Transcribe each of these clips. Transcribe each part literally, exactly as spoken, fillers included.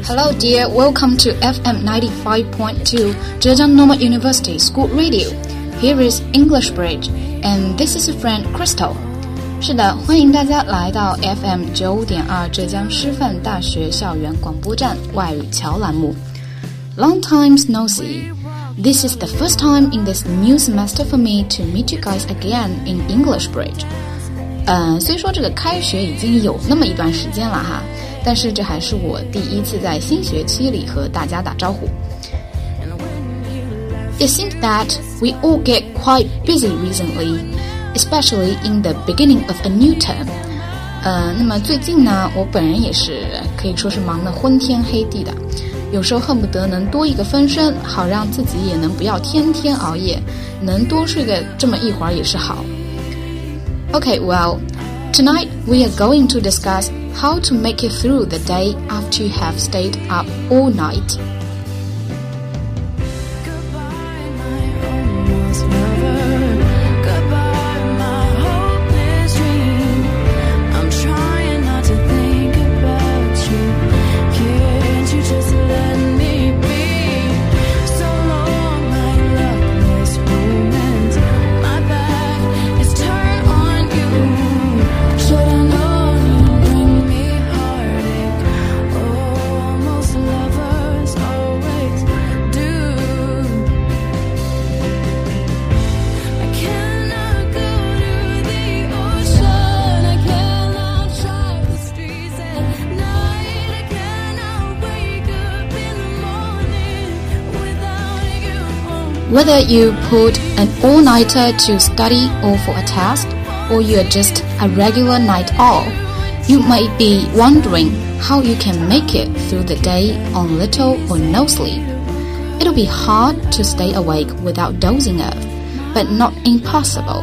Hello dear, welcome to F M ninety-five point two Zhejiang Normal University School Radio. Here is English Bridge, and this is your friend Crystal. 是的，欢迎大家来到 F M 九五点二浙江师范大学校园广播站外语桥栏目。Long times no see. This is the first time in this new semester for me to meet you guys again in English Bridge. 呃，虽说这个开学已经有那么一段时间了哈，但是这还是我第一次在新学期里和大家打招呼。It seems that we all get quite busy recently, especially in the beginning of a new term. 呃，那么最近呢，我本人也是可以说是忙得昏天黑地的，有时候恨不得能多一个分身，好让自己也能不要天天熬夜，能多睡个这么一会儿也是好。Okay, well, tonight we are going to discuss how to make it through the day after you have stayed up all night. Whether you pulled an all-nighter to study or for a test, or you're just a regular night owl, you may be wondering how you can make it through the day on little or no sleep. It'll be hard to stay awake without dozing off, but not impossible.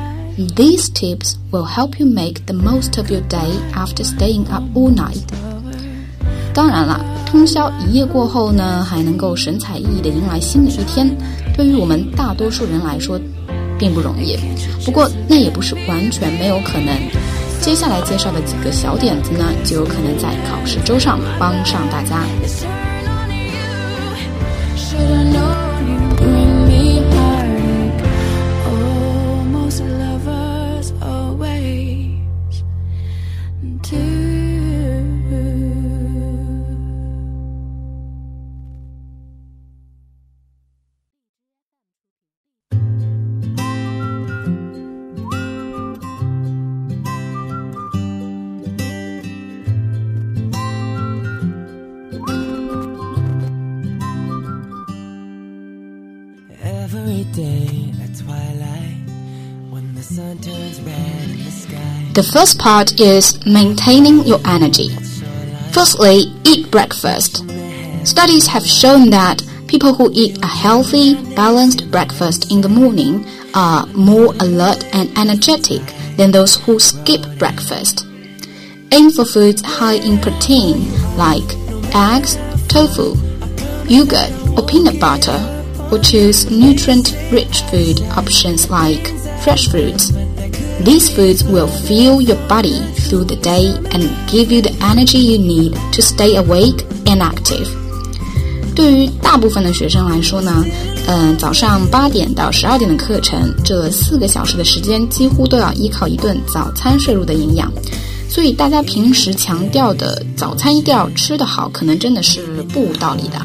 These tips will help you make the most of your day after staying up all night. 当然了，通宵一夜过后呢，还能够神采奕奕地迎来新的一天，对于我们大多数人来说并不容易。不过那也不是完全没有可能。接下来介绍的几个小点子呢，就有可能在考试周上帮上大家。The first part is maintaining your energy. Firstly, eat breakfast. Studies have shown that people who eat a healthy, balanced breakfast in the morning are more alert and energetic than those who skip breakfast. Aim for foods high in protein like eggs, tofu, yogurt, or peanut butter, or choose nutrient-rich food options like fresh fruits. These foods will fuel your body through the day and give you the energy you need to stay awake and active. 对于大部分的学生来说呢，嗯、呃，早上八点到十二点的课程，这四个小时的时间几乎都要依靠一顿早餐摄入的营养，所以大家平时强调的早餐一定要吃得好，可能真的是不无道理的。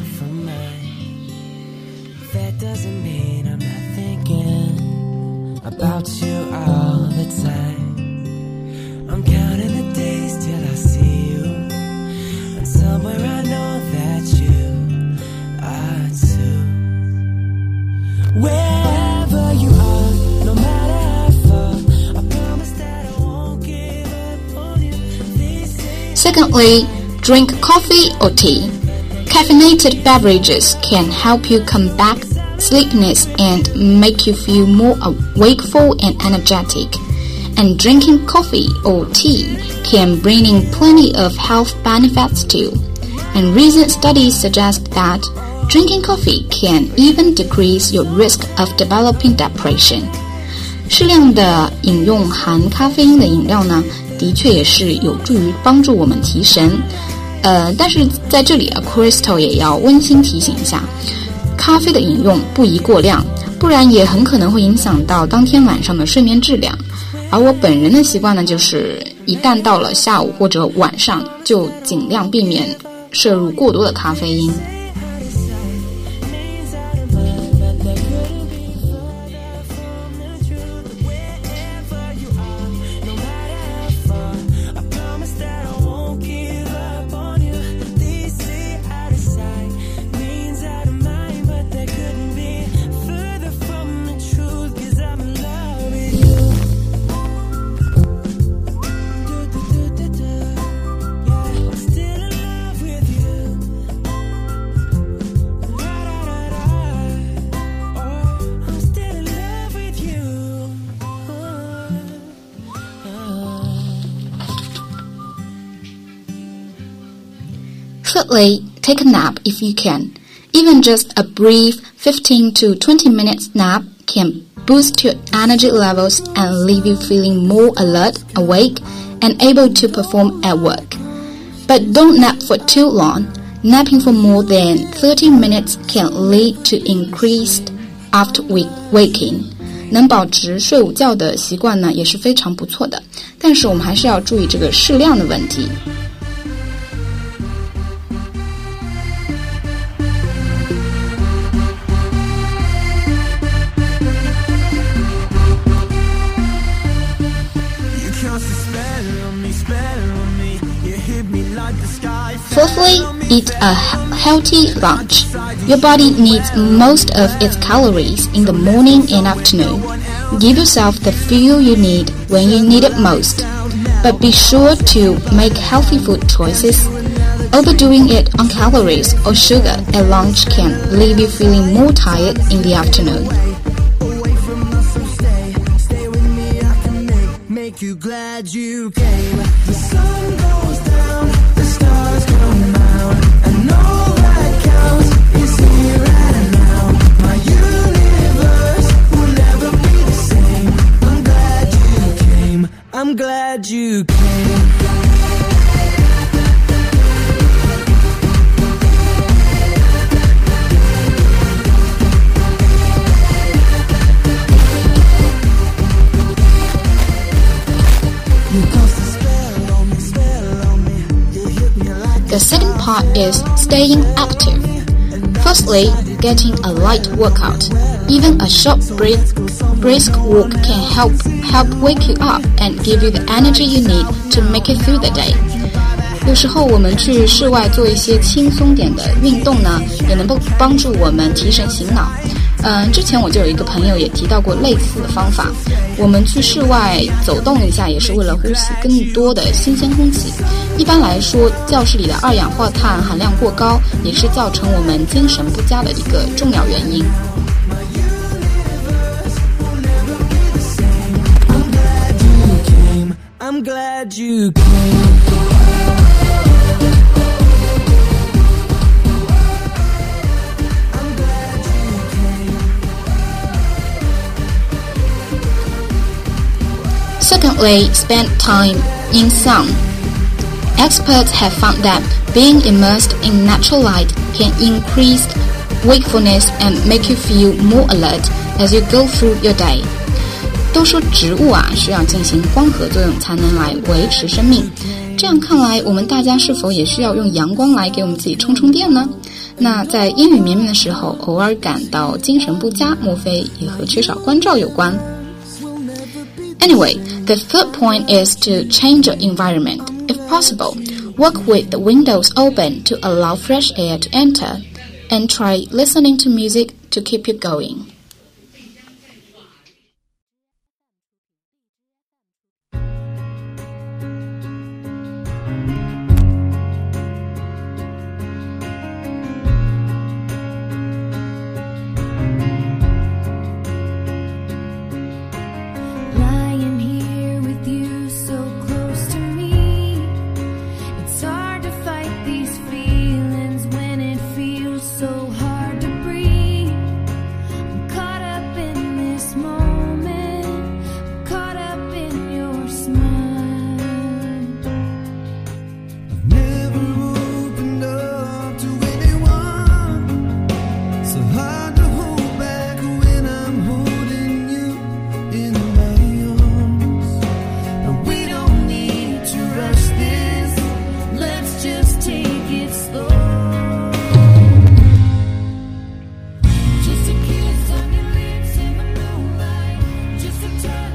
About you all the time. I'm counting the days till I see you, and somewhere I know that you are too. Wherever you are, no matter how far, I promise that I won't give up on you. Secondly, drink coffee or tea. Caffeinated beverages can help you combat sleepiness and make you feel more wakeful and energetic. And drinking coffee or tea can bring in plenty of health benefits too. And recent studies suggest that drinking coffee can even decrease your risk of developing depression. 适量的饮用含咖啡因的饮料呢，的确也是有助于帮助我们提神。 呃，但是在这里啊 Crystal 也要温馨提醒一下，咖啡的饮用不宜过量，不然也很可能会影响到当天晚上的睡眠质量。而我本人的习惯呢，就是一旦到了下午或者晚上，就尽量避免摄入过多的咖啡因。Thirdly, take a nap if you can. Even just a brief fifteen to twenty minutes nap can boost your energy levels and leave you feeling more alert, awake, and able to perform at work. But don't nap for too long. Napping for more than thirty minutes can lead to increased after waking. 能保持睡午觉的习惯呢，也是非常不错的，但是我们还是要注意这个适量的问题。Fourthly, eat a healthy lunch. Your body needs most of its calories in the morning and afternoon. Give yourself the fuel you need when you need it most. But be sure to make healthy food choices. Overdoing it on calories or sugar at lunch can leave you feeling more tired in the afternoon. Make you glad you came. The sun goes down, the stars come out, and all that counts is here and now. My universe will never be the same. I'm glad you came. I'm glad you came. The second part is staying active. Firstly, getting a light workout. Even a short brisk, brisk walk can help help wake you up and give you the energy you need to make it through the day. 有时候我们去室外做一些轻松点的运动呢，也能够帮助我们提神醒脑。嗯，之前我就有一个朋友也提到过类似的方法。我们去室外走动一下，也是为了呼吸更多的新鲜空气。一般来说，教室里的二氧化碳含量过高，也是造成我们精神不佳的一个重要原因。 I'm glad you came. Secondly, spend time in sun. Experts have found that being immersed in natural light can increase wakefulness and make you feel more alert as you go through your day. 都说植物啊需要进行光合作用才能来维持生命，这样看来我们大家是否也需要用阳光来给我们自己充充电呢？那在阴雨绵绵的时候偶尔感到精神不佳，莫非也和缺少光照有关？ Anyway, the third point is to change your environment. If possible, work with the windows open to allow fresh air to enter, and try listening to music to keep you going. So hard to breathe. I'm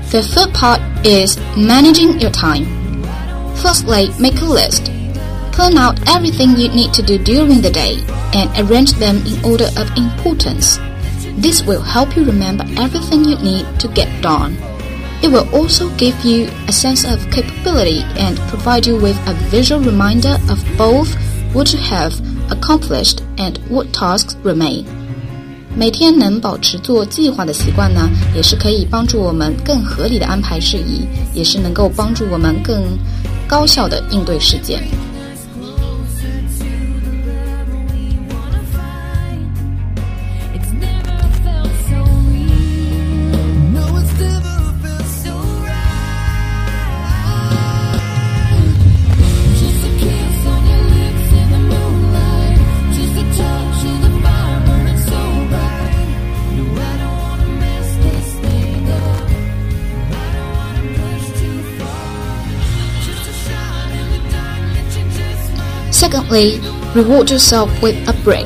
The third part is managing your time. Firstly, make a list. Plan out everything you need to do during the day and arrange them in order of importance. This will help you remember everything you need to get done. It will also give you a sense of capability and provide you with a visual reminder of both what you have accomplished and what tasks remain. 每天能保持做计划的习惯呢，也是可以帮助我们更合理的安排事宜，也是能够帮助我们更高效的应对事件。Secondly, reward yourself with a break.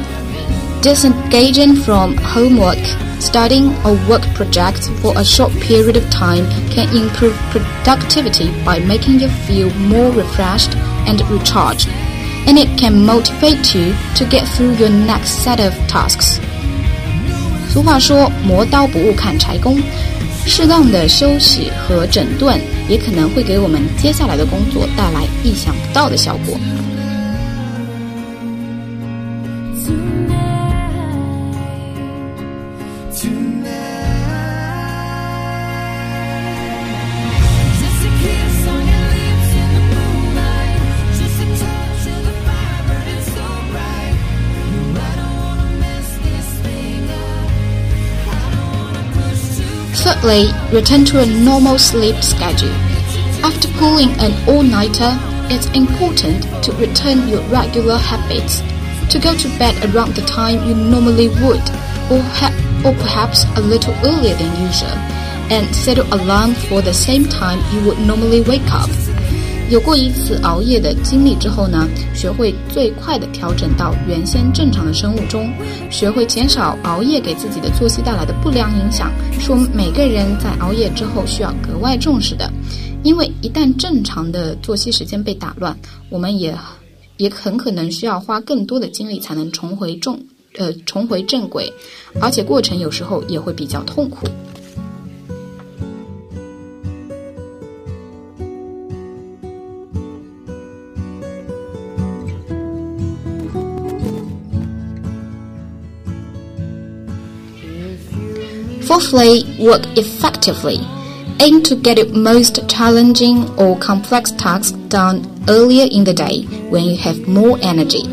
Disengaging from homework, studying or work projects for a short period of time can improve productivity by making you feel more refreshed and recharged, and it can motivate you to get through your next set of tasks. 俗话说，磨刀不误砍柴工。适当的休息和整顿也可能会给我们接下来的工作带来意想不到的效果。Thirdly, return to a normal sleep schedule. After pulling an all-nighter, it's important to return your regular habits, to go to bed around the time you normally would, or, ha- or perhaps a little earlier than usual, and set an alarm for the same time you would normally wake up. 有过一次熬夜的经历之后呢，学会最快的调整到原先正常的生物钟，学会减少熬夜给自己的作息带来的不良影响，是我们每个人在熬夜之后需要格外重视的。因为一旦正常的作息时间被打乱，我们也也很可能需要花更多的精力才能重回正呃重回正轨，而且过程有时候也会比较痛苦。Fourthly, work effectively. Aim to get your most challenging or complex tasks done earlier in the day when you have more energy.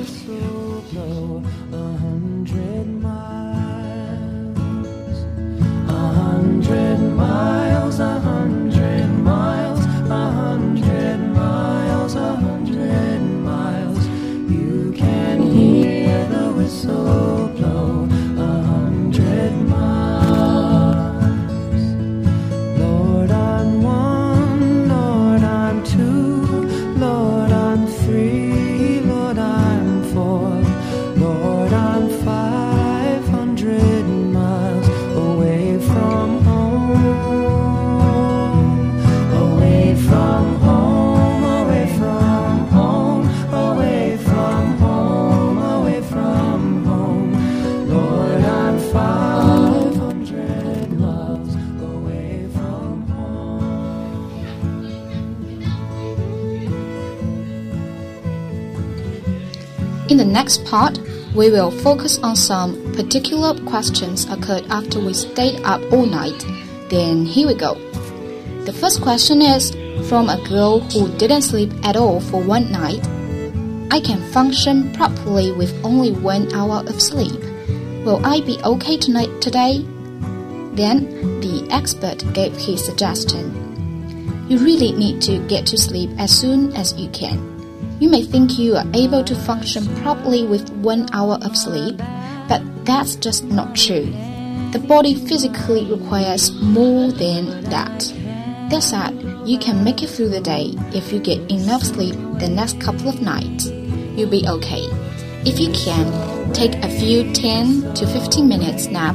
In the next part, we will focus on some particular questions occurred after we stayed up all night. Then here we go. The first question is from a girl who didn't sleep at all for one night. I can function properly with only one hour of sleep. Will I be okay tonight today? Then the expert gave his suggestion. You really need to get to sleep as soon as you can.You may think you are able to function properly with one hour of sleep, but that's just not true. The body physically requires more than that. That said, you can make it through the day if you get enough sleep the next couple of nights. You'll be okay. If you can, take a few ten to fifteen minutes naps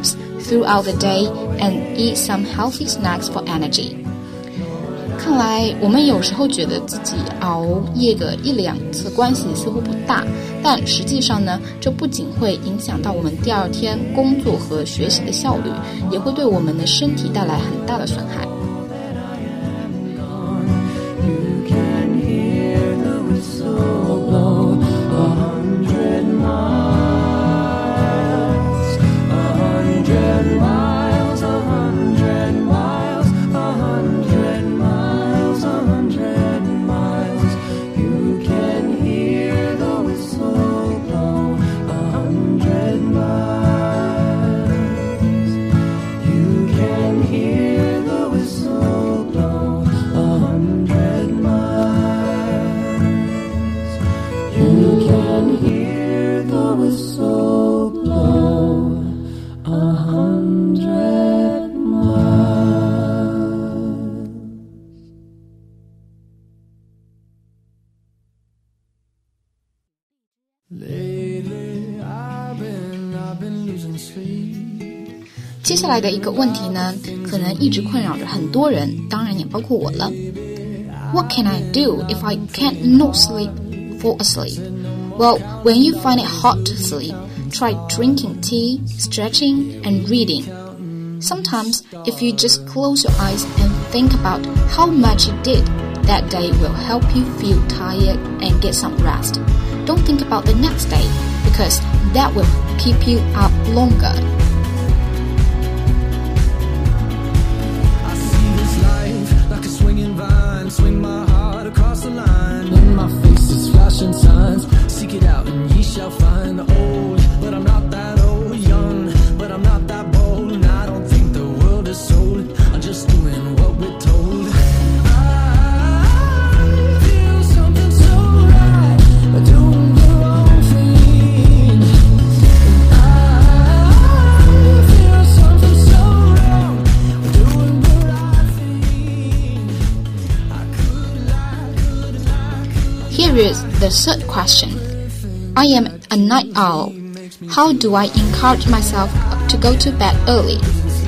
throughout the day and eat some healthy snacks for energy. 看来我们有时候觉得自己熬夜个一两次关系似乎不大，但实际上呢，这不仅会影响到我们第二天工作和学习的效率，也会对我们的身体带来很大的损害。接下来的一个问题呢，可能一直困扰着很多人，当然也包括我了。What can I do if I can't not sleep, fall asleep? Well, when you find it hard to sleep, try drinking tea, stretching, and reading. Sometimes, if you just close your eyes and think about how much you did, that day will help you feel tired and get some rest. Don't think about the next day, because that will keep you up longer. Swing my heart across the line. In my face is flashing signs. Seek it out and ye shall find. Old, but I'm not that old. Young, but I'm not that bold. And I don't think the world is sold. I'm just doing what we're told. I feel something so right. Doing the wrong thing. I feel something so wrong. Doing the right thing. Here is the third question. I am a night owl. How do I encourage myself to go to bed early?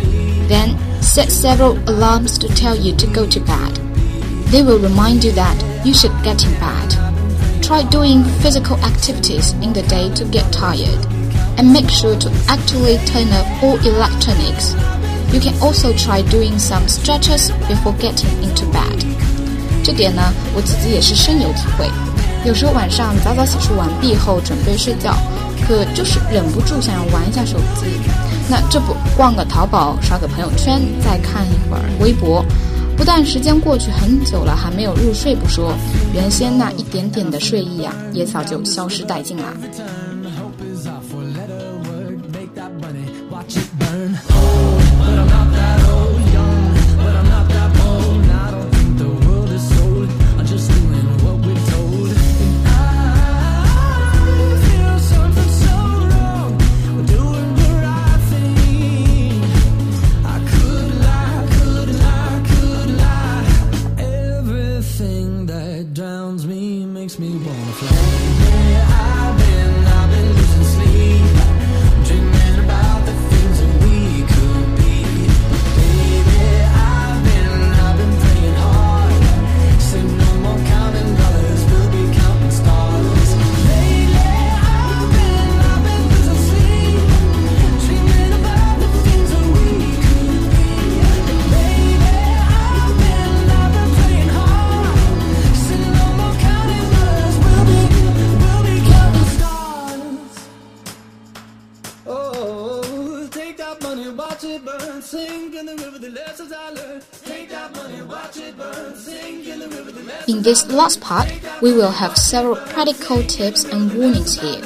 Then set several alarms to tell you to go to bed. They will remind you that you should get in bed. Try doing physical activities in the day to get tired. And make sure to actively turn off all electronics. You can also try doing some stretches before getting into bed. 这点呢，我自己也是深有体会。有时候晚上早早洗漱完毕后准备睡觉，可就是忍不住想要玩一下手机。那这不逛个淘宝，刷个朋友圈，再看一会儿微博，不但时间过去很久了还没有入睡不说，原先那一点点的睡意啊，也早就消失殆尽啦。In this last part, we will have several practical tips and warnings here.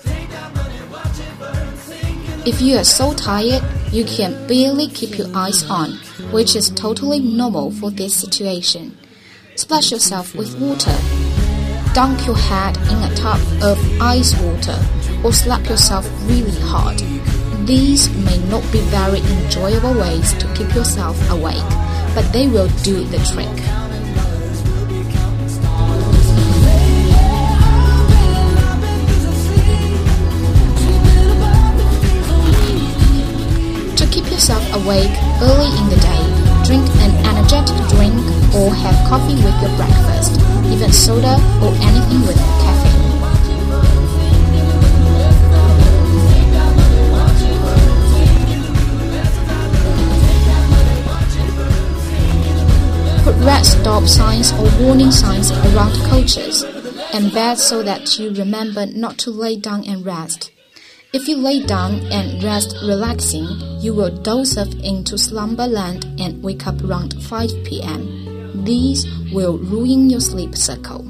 If you are so tired, you can barely keep your eyes on, which is totally normal for this situation. Splash yourself with water. Dunk your head in a tub of ice water, or slap yourself really hard. These may not be very enjoyable ways to keep yourself awake, but they will do the trick. To keep awake early in the day, drink an energetic drink or have coffee with your breakfast, even soda or anything with caffeine. Put red stop signs or warning signs around coaches and beds so that you remember not to lay down and rest. If you lay down and rest relaxing, you will doze off into slumberland and wake up around five p.m. These will ruin your sleep cycle.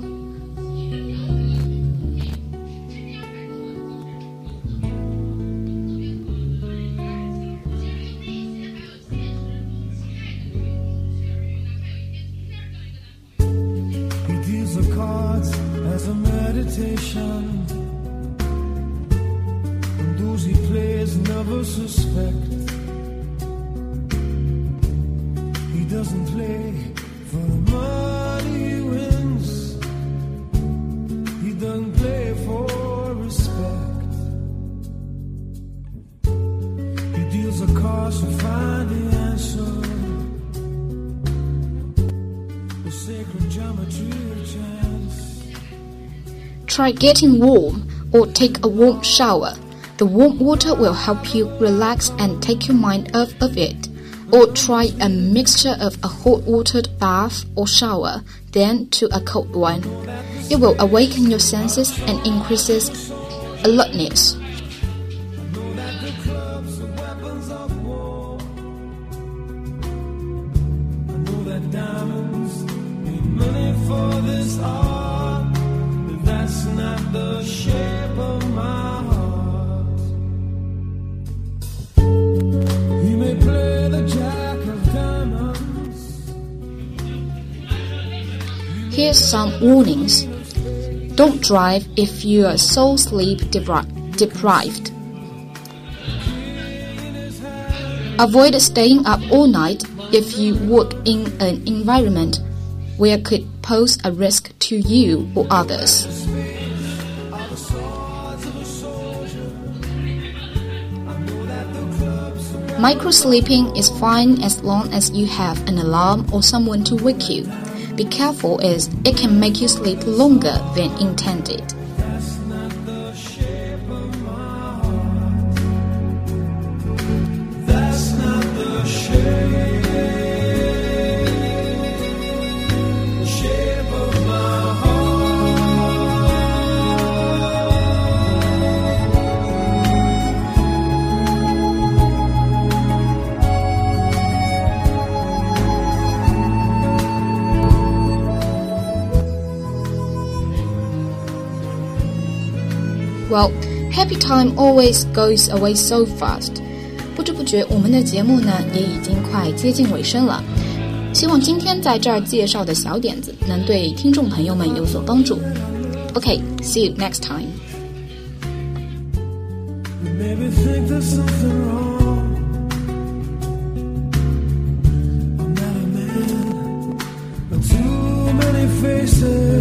He deals the cards as a meditation. Those he plays never suspect. He doesn't play for the money he wins. He doesn't play for respect. He deals the cards to find the answer. The sacred geometry of chance. Try getting warm or take a warm shower. The warm water will help you relax and take your mind off of it. Or try a mixture of a hot watered bath or shower, then to a cold one. It will awaken your senses and increases alertness. Here's some warnings. Don't drive if you are so sleep depri- deprived. Avoid staying up all night if you work in an environment where it could pose a risk to you or others. Micro-sleeping is fine as long as you have an alarm or someone to wake you. Be careful as it can make you sleep longer than intended. Well, happy time always goes away so fast. 不知不觉我们的节目呢也已经快接近尾声了。希望今天在这儿介绍的小点子能对听众朋友们有所帮助。Okay, see you next time. You maybe think there's something wrong. I'm not a man, but too many faces.